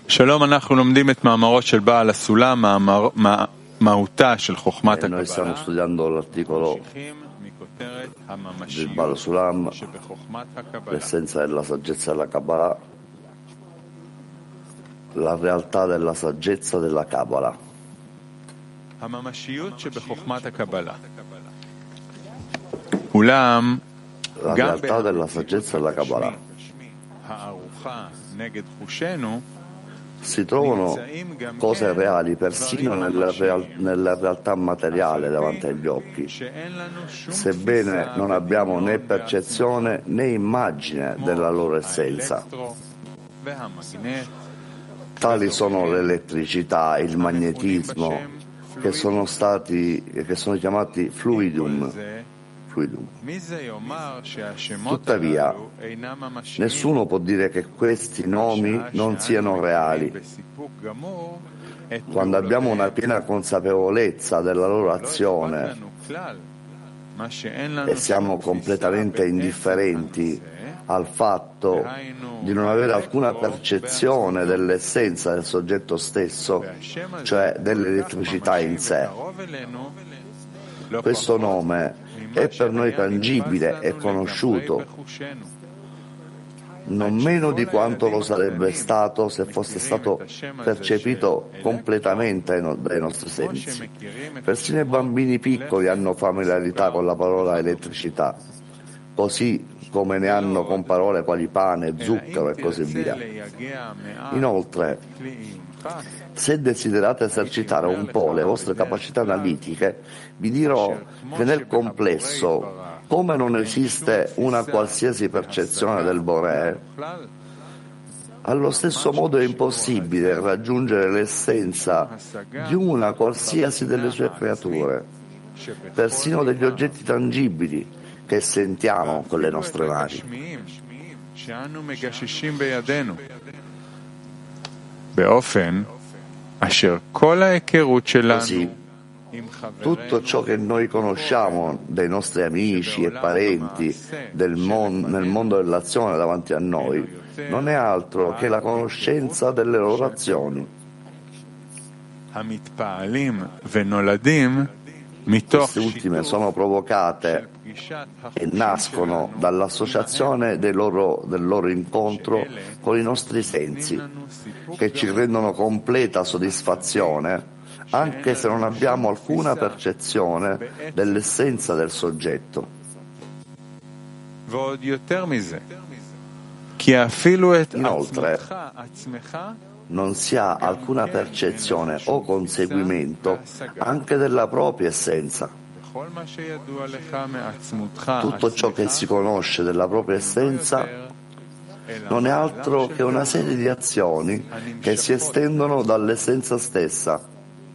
שלום, אנחנו לומדים את מאמרו של בעל הסולם, מהותה של חוכמת Noi stiamo הקבלה, studiando l'articolo ממשיכים מכותרת del Baal הממשיות Sulam, שבחוכמת הקבלה. l'essenza della saggezza della Kabbalah, la realtà della saggezza della Kabbalah. הממשיות שבחוכמת הקבלה. אולם, La גם realtà della saggezza della Kabbalah. הערוכה נגד חושנו, Si trovano cose reali persino nella realtà materiale davanti agli occhi, sebbene non abbiamo né percezione né immagine della loro essenza. Tali sono l'elettricità, il magnetismo, che sono chiamati fluidum. Tuttavia, nessuno può dire che questi nomi non siano reali. Quando abbiamo una piena consapevolezza della loro azione e siamo completamente indifferenti al fatto di non avere alcuna percezione dell'essenza del soggetto stesso, cioè dell'elettricità in sé, questo nome è per noi tangibile e conosciuto, non meno di quanto lo sarebbe stato se fosse stato percepito completamente dai nostri sensi. Persino i bambini piccoli hanno familiarità con la parola elettricità, così come ne hanno con parole quali pane, zucchero e così via. Inoltre, se desiderate esercitare un po' le vostre capacità analitiche, vi dirò che nel complesso, come non esiste una qualsiasi percezione del Boré, allo stesso modo è impossibile raggiungere l'essenza di una qualsiasi delle sue creature, persino degli oggetti tangibili che sentiamo con le nostre mani. Così, tutto ciò che noi conosciamo dei nostri amici e parenti nel mondo dell'azione davanti a noi non è altro che la conoscenza delle loro azioni. Queste ultime sono provocate e nascono dall'associazione del loro incontro con i nostri sensi, che ci rendono completa soddisfazione anche se non abbiamo alcuna percezione dell'essenza del soggetto. Inoltre, non si ha alcuna percezione o conseguimento anche della propria essenza. Tutto ciò che si conosce della propria essenza non è altro che una serie di azioni che si estendono dall'essenza stessa.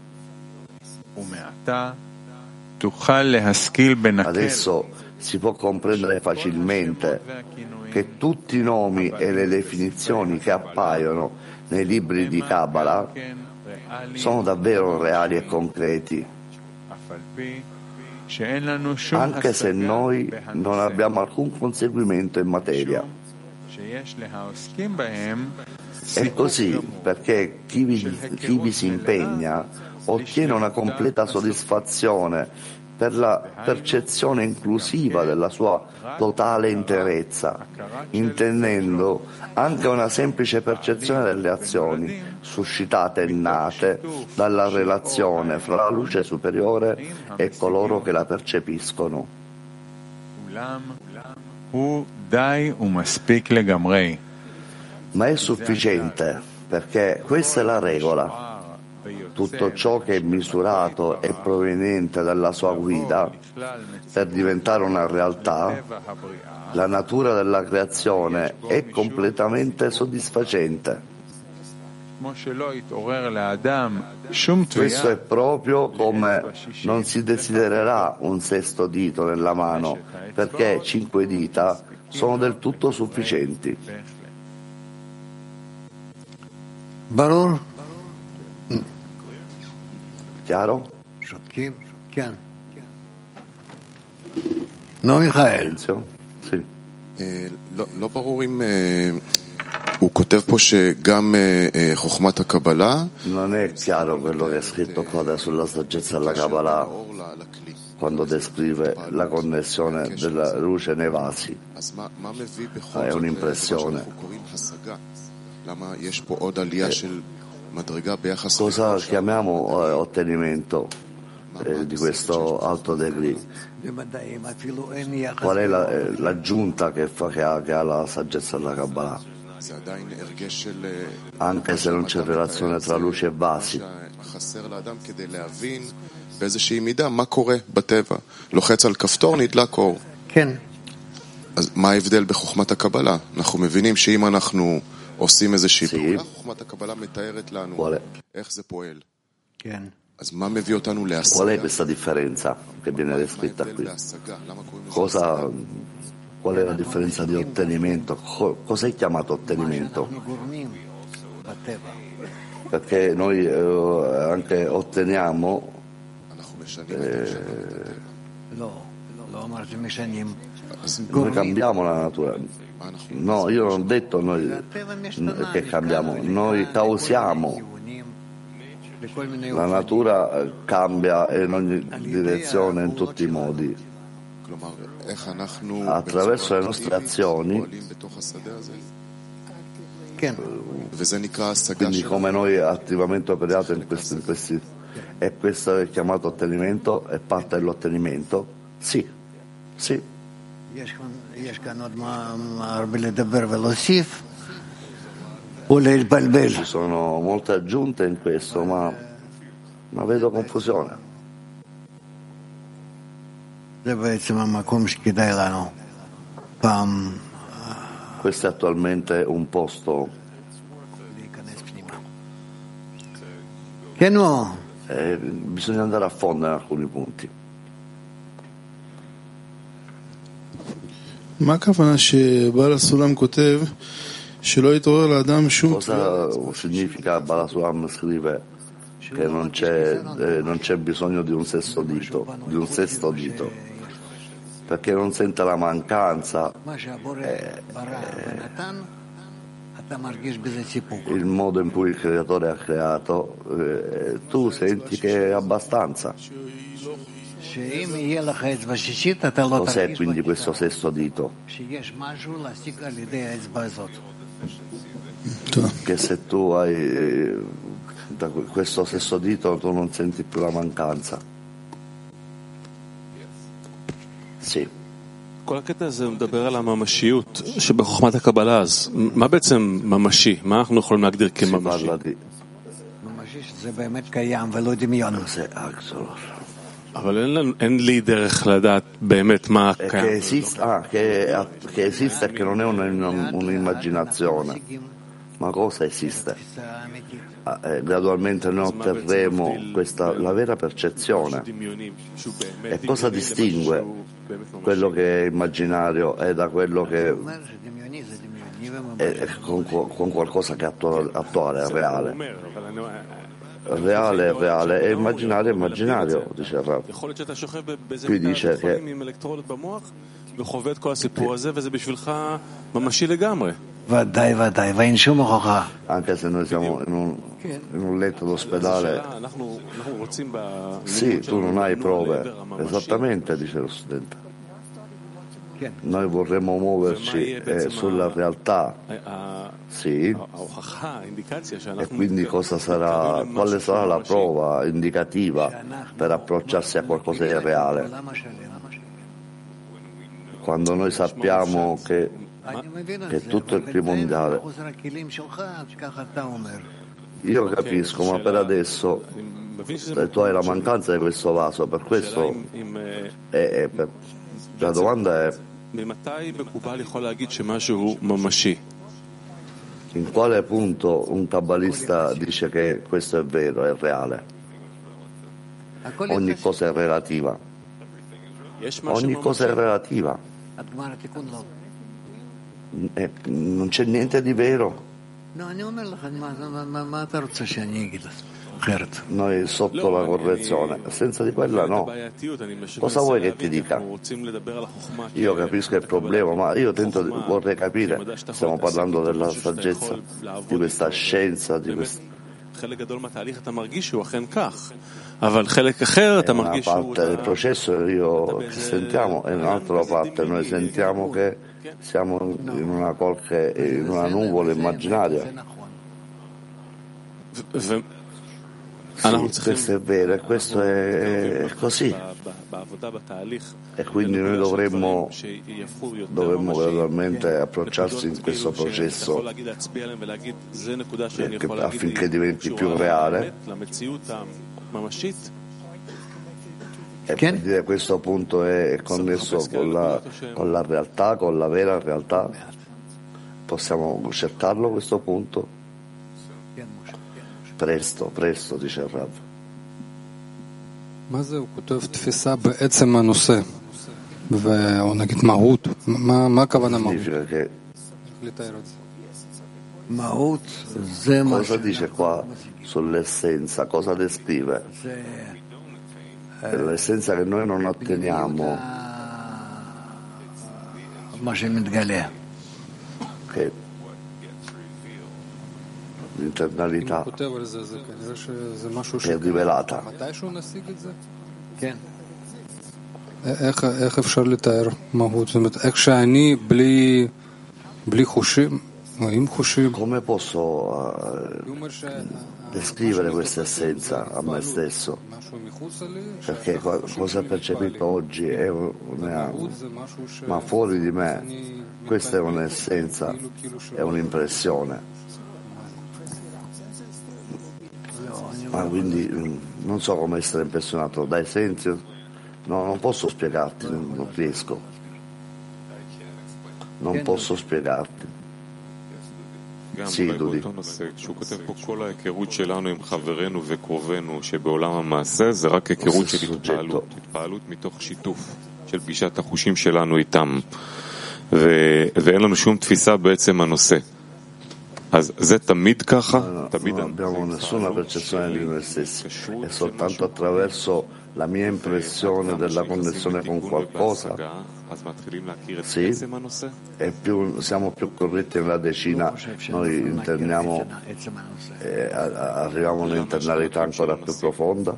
Adesso si può comprendere facilmente che tutti i nomi e le definizioni che appaiono nei libri di Kabbalah sono davvero reali e concreti, anche se noi non abbiamo alcun conseguimento in materia. È così perché chi vi si impegna ottiene una completa soddisfazione per la percezione inclusiva della sua totale interezza, intendendo anche una semplice percezione delle azioni suscitate e nate dalla relazione fra la luce superiore e coloro che la percepiscono. Ma è sufficiente, perché questa è la regola. Tutto ciò che è misurato e proveniente dalla sua guida, per diventare una realtà, la natura della creazione è completamente soddisfacente. Questo è proprio come non si desidererà un sesto dito nella mano, perché 5 dita sono del tutto sufficienti. Baror? Chiaro? No, Michael. Sì. לא ברור אם הוא כותב פה שגם חוכמת הקבלה Non è chiaro quello che è scritto qua sulla saggezza della Kabbalah quando descrive la connessione della luce nei vasi. È un'impressione. Cosa chiamiamo ottenimento di questo alto degree? Qual è l'aggiunta che ha la saggezza della Kabbalah? Anche se non c'è relazione tra luce e vasi. באיזושהי מידה, מה קורה בטבע? לוחץ על כפתור, נדלק אור. כן. אז מה ההבדל בחוכמת הקבלה? אנחנו מבינים שאם אנחנו עושים איזושהי פעולה, חוכמת הקבלה מתארת לנו איך זה פועל. כן. אז מה מביא אותנו להשגה? Qual è questa differenza che viene descritta qui? Qual è la differenza di ottenimento? Cos'è chiamato ottenimento? Perché noi anche otteniamo noi cambiamo la natura. No, io non ho detto noi che cambiamo, noi causiamo. La natura cambia in ogni direzione, in tutti i modi. Attraverso le nostre azioni, quindi come noi attivamente operiamo in questi, e questo è chiamato ottenimento, è parte dell'ottenimento? Sì, sì. Ci sono molte aggiunte in questo, ma vedo confusione. Questo è attualmente un posto che no. Bisogna andare a fondo in alcuni punti. מה הכוונה שבעל הסולם כותב שלא יתעורר לאדם שום Cosa significa Baal HaSulam scrive che non c'è bisogno di un sesto dito, perché non sente la mancanza, il modo in cui il creatore ha creato, tu senti che è abbastanza. Cos'è quindi questo sesto dito? Che se tu hai da questo sesto dito tu non senti più la mancanza. Sì. כל הקטע הזה מדבר על הממשיות שבחוכמת הקבלה, אז מה בעצם ממשי? מה אנחנו יכולים להגדיר כממשי? זה באמת קיים ולא דמיון. אבל אין לי דרך לדעת באמת מה קיים. Che esiste e che non è un'immaginazione. Ma cosa esiste? Gradualmente noi otterremo la vera percezione. E cosa distingue quello che è immaginario da quello che è con qualcosa che è attuale, è reale? Reale è reale e immaginario è immaginario, dice il Rav. Qui dice che וחווה את כל הסיפור הזה, וזה בשבילך ממשי לגמרי. ודאי, ואין שום הוכחה. Anche se noi siamo in un letto d'ospedale. Sì, tu non hai prove. Esattamente, dice lo studente. Noi vorremmo muoverci sulla realtà. Sì. E quindi quale sarà la prova indicativa per approcciarsi a qualcosa di reale? Quando noi sappiamo che tutto il primordiale. Io capisco, ma per adesso tu hai la mancanza di questo vaso, per questo la domanda è: in quale punto un kabbalista dice che questo è vero, è reale? Ogni cosa è relativa. Ogni cosa è relativa. Non c'è niente di vero. noi sotto la correzione, senza di quella no. Cosa vuoi che ti dica? Io capisco il problema, ma io vorrei capire, stiamo parlando della saggezza, di questa scienza, di questa... È una parte del processo io ci sentiamo e un'altra parte noi sentiamo che siamo in una nuvola immaginaria. Sì, questo è vero e questo è così. E quindi noi dovremmo gradualmente approcciarsi in questo processo affinché diventi più reale. E per dire questo punto è connesso con la realtà, con la vera realtà. Possiamo accettarlo questo punto? Presto, dice il Rav. מה זה? הוא כותב תפיסה בעצם הנושא, או נגיד מהות, מה הכוונה מהות? לתאר את זה. Cosa dice qua sull'essenza? Cosa descrive? L'essenza che noi non otteniamo, che l'internalità è rivelata. איך אפשר לתאר מהות? זאת אומרת, איך שאני בלי חושים, או עם חושים. Come posso descrivere questa essenza a me stesso? Perché cosa ho percepito oggi è ma fuori di me questa è un'essenza, è un'impressione. Ma quindi non so come essere impressionato dai sensi, no, non posso spiegarti, non riesco, non posso spiegarti. Sì, Dudi. כשהוא כותב פה כל ההיכרות שלנו עם חברינו וקרובנו שבעולם המעשה זה רק היכרות של התפעלות מתוך שיתוף של פגישת החושים שלנו איתם ואין לנו שום תפיסה בעצם הנושא. אז זה תמיד ככה? Non abbiamo nessuna percezione di noi stessi, è soltanto attraverso la mia impressione della connessione con qualcosa. Sì, siamo più corretti nella decina, noi interniamo e arriviamo a un'internalità ancora più profonda.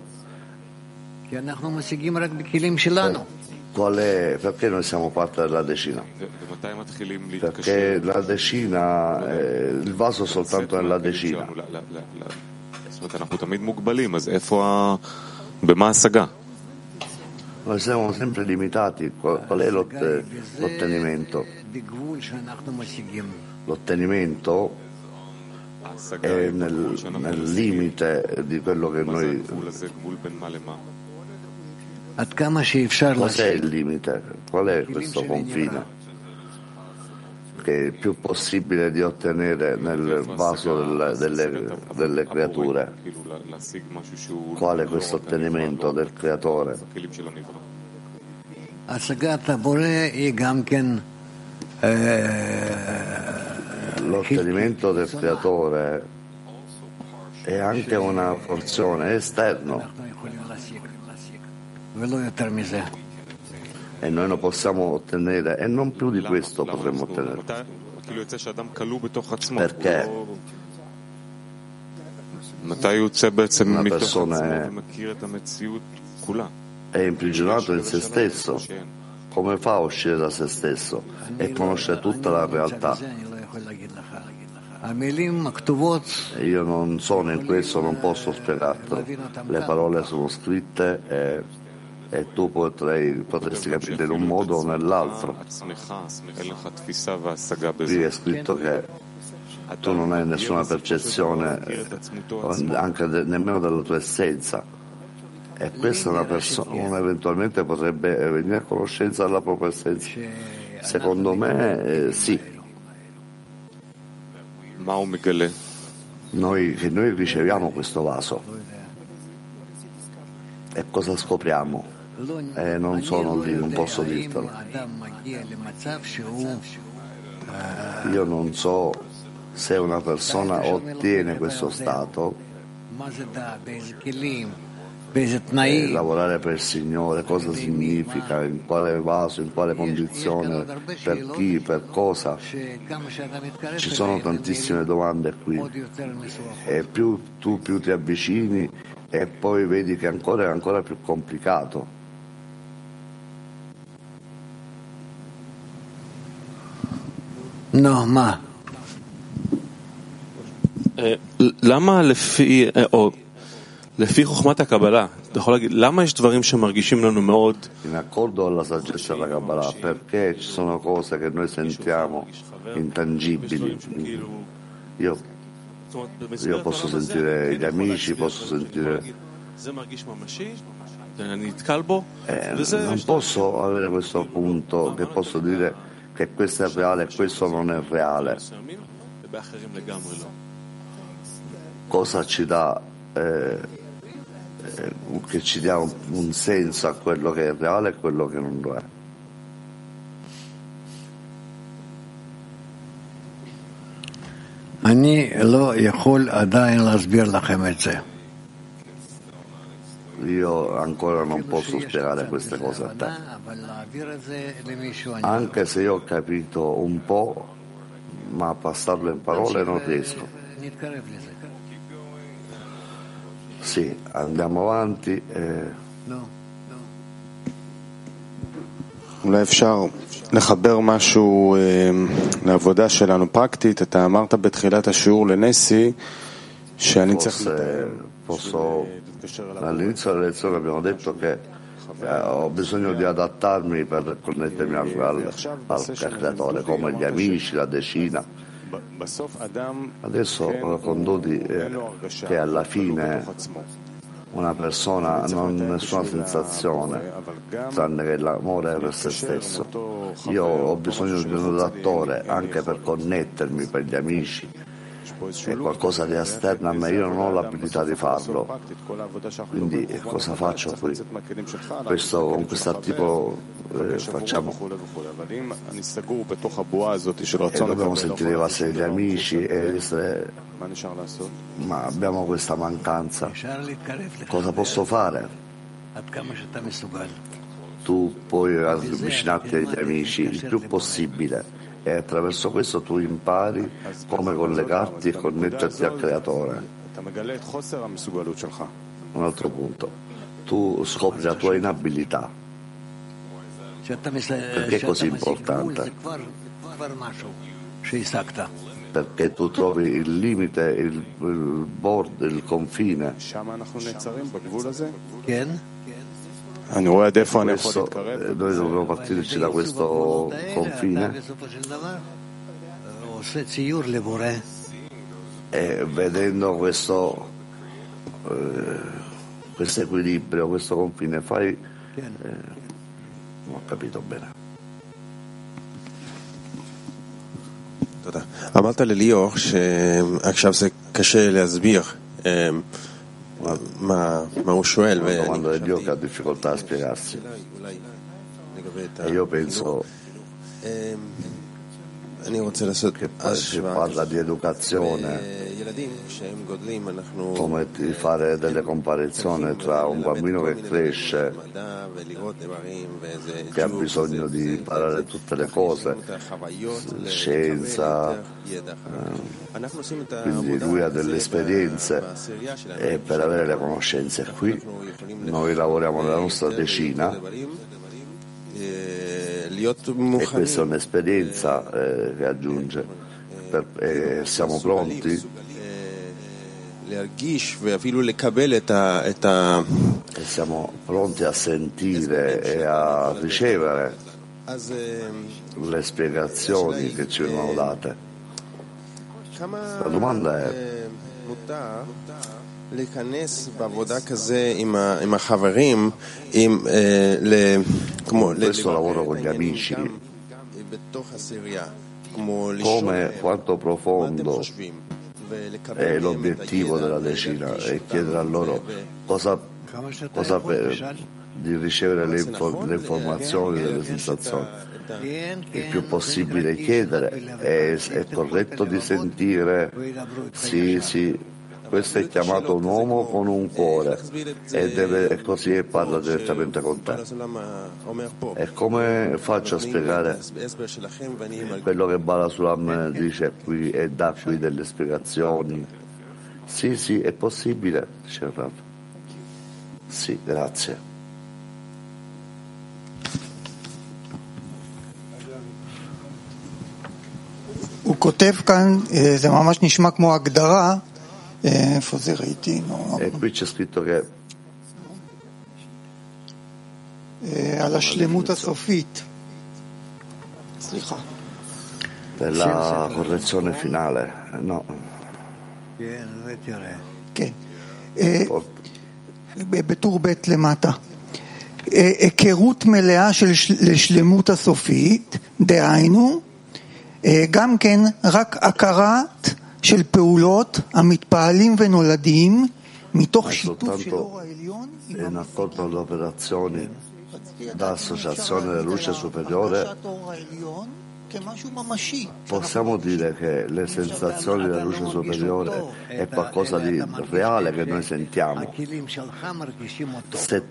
Perché noi siamo parte della decina? Perché la decina, il vaso è soltanto nella decina. Noi siamo sempre limitati. Qual è l'ottenimento? L'ottenimento è nel limite di quello che noi... Cos'è il limite? Qual è questo confine? Che è il più possibile di ottenere nel vaso delle creature. Qual è questo ottenimento del creatore? L'ottenimento del creatore è anche una porzione esterna. E noi lo possiamo ottenere e non più di questo potremmo ottenere. Perché una persona è imprigionato in se stesso, come fa a uscire da se stesso e conoscere tutta la realtà? Io non sono in questo, non posso spiegartelo. Le parole sono scritte e tu potresti capire in un modo o nell'altro. Qui è scritto che tu non hai nessuna percezione anche nemmeno della tua essenza, e questa una persona eventualmente potrebbe venire a conoscenza della propria essenza. Secondo me sì. Noi riceviamo questo vaso e cosa scopriamo? Non sono lì, non posso dirtelo. Io non so se una persona ottiene questo stato lavorare per il Signore, cosa significa, in quale vaso, in quale condizione, per chi, per cosa. Ci sono tantissime domande qui e più ti avvicini e poi vedi che è ancora più complicato. No, ma למה לפי חוכמת הקבלה, אתה יכול להגיד, למה יש דברים שמרגישים לנו מאוד? In accordo alla saggezza della Kabbalah, perché ci sono cose che noi sentiamo intangibili. Io posso sentire gli amici, posso sentire... non posso avere questo punto che posso dire che questo è reale e questo non è reale. Cosa ci dà che ci dia un senso a quello che è reale e quello che non lo è? אני לא יכול עדיין להסביר לכם את זה. Io ancora non posso spiegare queste cose a te, anche se io ho capito un po', ma a passarlo in parole non riesco. Sì, andiamo avanti. אולי אפשר לחבר משהו לעבודה שלנו פרקטית. אתה אמרת בתחילת השיעור לנסי שאני צריך... All'inizio della lezione abbiamo detto che ho bisogno di adattarmi per connettermi al creatore, come gli amici, la decina. Adesso condoti che alla fine una persona non ha nessuna sensazione tranne che l'amore per se stesso. Io ho bisogno di un adattore anche per connettermi, per gli amici. È qualcosa di esterno a me, io non ho l'abilità di farlo, quindi cosa faccio qui? Con questo articolo facciamo e dobbiamo sentire i vasi degli amici ma abbiamo questa mancanza. Cosa posso fare? Tu puoi avvicinarti agli amici il più possibile e attraverso questo tu impari come collegarti e connetterti al creatore. Un altro punto, tu scopri la tua inabilità. Perché è così importante? Perché tu trovi il limite, il confine. Questo, noi dobbiamo partirci da questo confine e vedendo questo equilibrio, questo confine, non ho capito bene. תודה. אמרת לליאור שעכשיו זה קשה להסביר מה הוא שואל. Quando è Dio che ha difficoltà a spiegarsi. E io penso che si parla di educazione, come di fare delle comparazioni tra un bambino che cresce, che ha bisogno di imparare tutte le cose, scienza, quindi lui ha delle esperienze e per avere le conoscenze. Qui noi lavoriamo nella nostra decina e questa è un'esperienza che aggiunge e siamo pronti e siamo pronti a sentire e a ricevere le spiegazioni che ci vengono date. La domanda è: questo lavoro con gli amici, quanto profondo è l'obiettivo della decina, e chiedere a loro di ricevere le informazioni, le sensazioni. Il più possibile chiedere, è corretto di sentire, sì, Questo è chiamato un uomo con un cuore e così parla direttamente con te. E come faccio a spiegare quello che Bala Sulam dice qui e dà qui delle spiegazioni? Sì, è possibile, dice il Rav. Sì, grazie. הוא כותב כאן, זה ממש נשמע כמו הגדרה, איפה זה ראיתי? E qui c'è scritto che על השלמות הסופית. סליחה. della correzione finale, no? כן. בטור ב' למטה. היכרות מלאה לשלמות הסופית, דהיינו, גם כן רק הכרת של פעולות המתפעלים ונולדים מתוך שיתוף של אור העליון עם operazioni da associazione della luce superiore. Possiamo dire che le sensazioni della luce superiore è qualcosa di reale che noi sentiamo. Se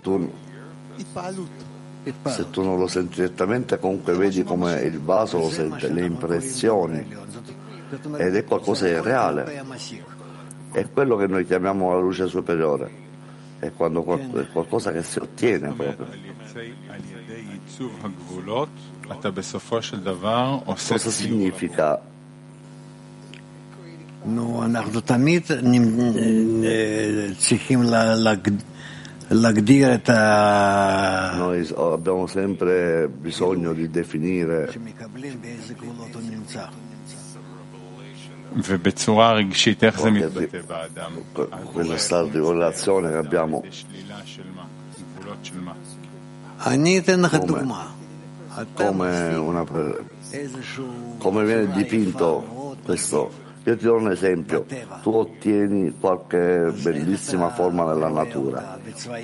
tu non lo senti direttamente, comunque vedi come il vaso lo sente, le impressioni, ed è qualcosa di reale. È quello che noi chiamiamo la luce superiore, è quando è qualcosa che si ottiene proprio. Cosa significa? אנחנו תמיד צריכים להגדיר את ה... Noi abbiamo sempre bisogno di definire ובצורה רגשית, איך זה מתבטא באדם? quello stato di correlazione che abbiamo. אני אתן לך דוגמה. Come viene dipinto questo? Io ti do un esempio. Tu ottieni qualche bellissima forma nella natura.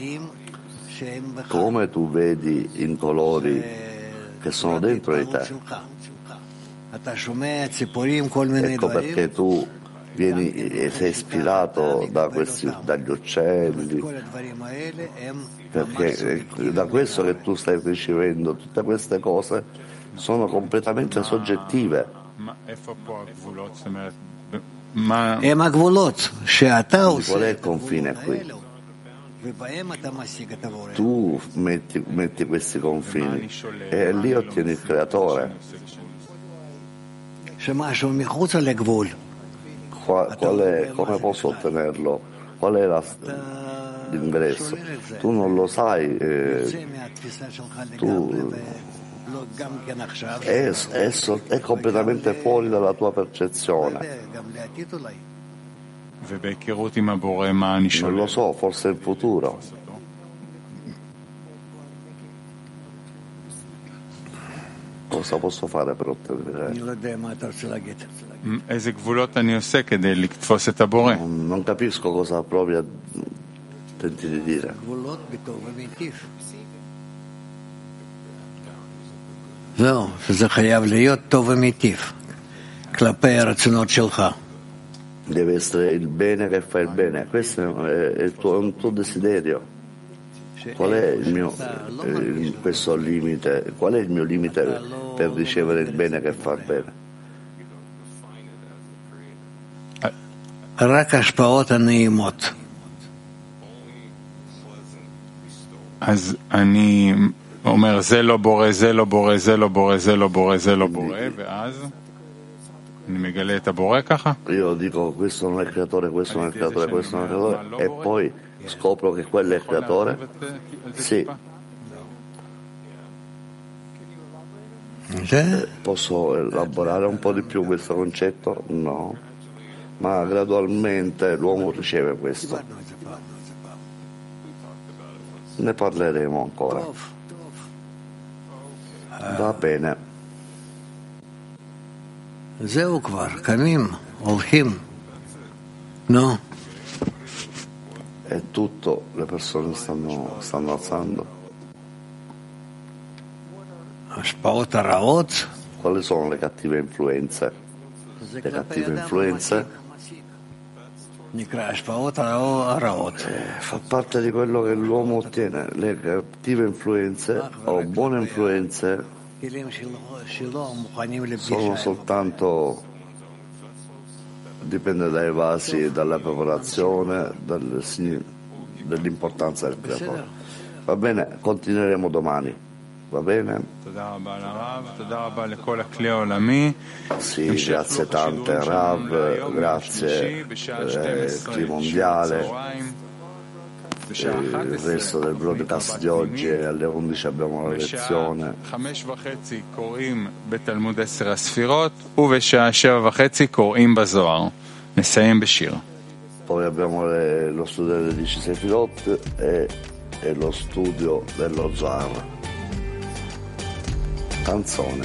Come tu vedi in colori che sono dentro di te. Ecco perché tu sei ispirato dagli uccelli, perché da questo che tu stai ricevendo, tutte queste cose sono completamente soggettive. Qual è il confine qui? Tu metti questi confini e lì ottieni il creatore. Come posso ottenerlo? Qual è l'ingresso? Tu non lo sai, è completamente fuori dalla tua percezione. Non lo so, forse il futuro. Cosa posso fare per ottenere? Non capisco cosa proprio tenti di dire. זהו, שזה חייב להיות טוב ומיטיב כלפי הרצונות שלך. Deve essere il bene che fa il bene. Questo è un tuo desiderio. Qual è questo limite? Qual è il mio limite per ricevere il bene che fa il bene? רק השפעות הנעימות. אז אני אומר זה לא בורא, זה לא בורא, זה לא בורא, זה לא בורא, זה לא בורא, ואז אני מגלה את הבורא ככה? Io dico questo non è il creatore, questo non è il creatore, questo non è il creatore, e poi scopro che quello è il creatore? Sì. Posso elaborare un po' di più questo concetto? No. Ma gradualmente l'uomo riceve questo. Ne parleremo ancora. Va bene. זהו כבר, קמים, הולכים. No. È tutto, le persone stanno alzando. השפעות הרעות. Quali sono le cattive influenze? Le cattive influenze Fa parte di quello che l'uomo ottiene, le cattive influenze o buone influenze sono soltanto, dipende dai vasi, dalla preparazione, dall'importanza del creatore. Va bene, continueremo domani. Va bene? Sì, grazie tante Rav, grazie Cli Mondiale. Il resto del broadcast di oggi alle 11 abbiamo la lezione. Poi abbiamo lo studio delle 10 Sefirot e lo studio dello Zohar. Canzone.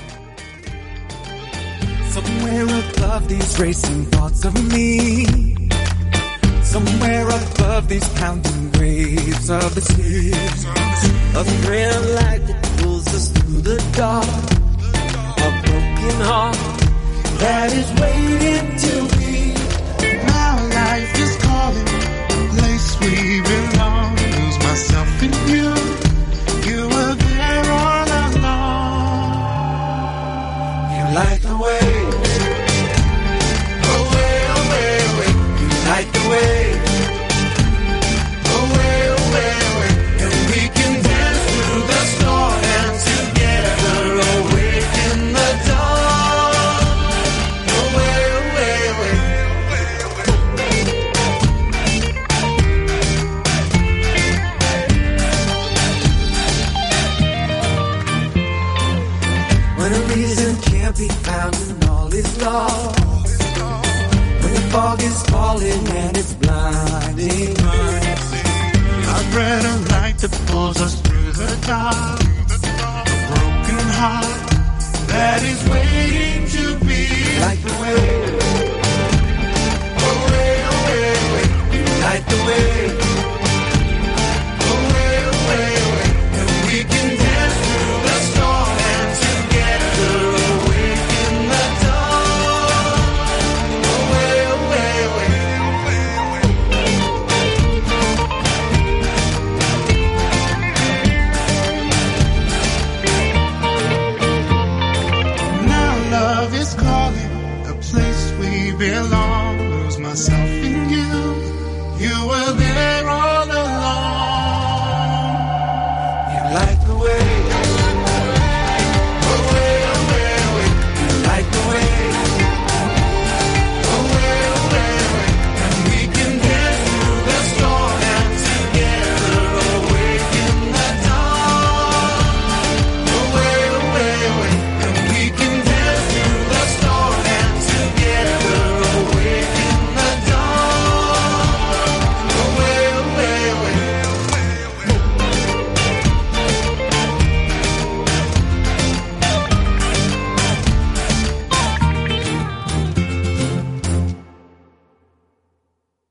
Somewhere above these racing thoughts of me, somewhere above these pounding waves of the sea, a thrill light that pulls us through the dark, a broken heart that is waiting to be. My life is calling, a place we belong. Lose myself in you. You were there all along. You light the way, away, away, away. You light the way, away, away, away. And we can dance through the storm and together awake in the dawn. Away, away, away. When a reason can't be found and all is lost, when the fog is falling and it's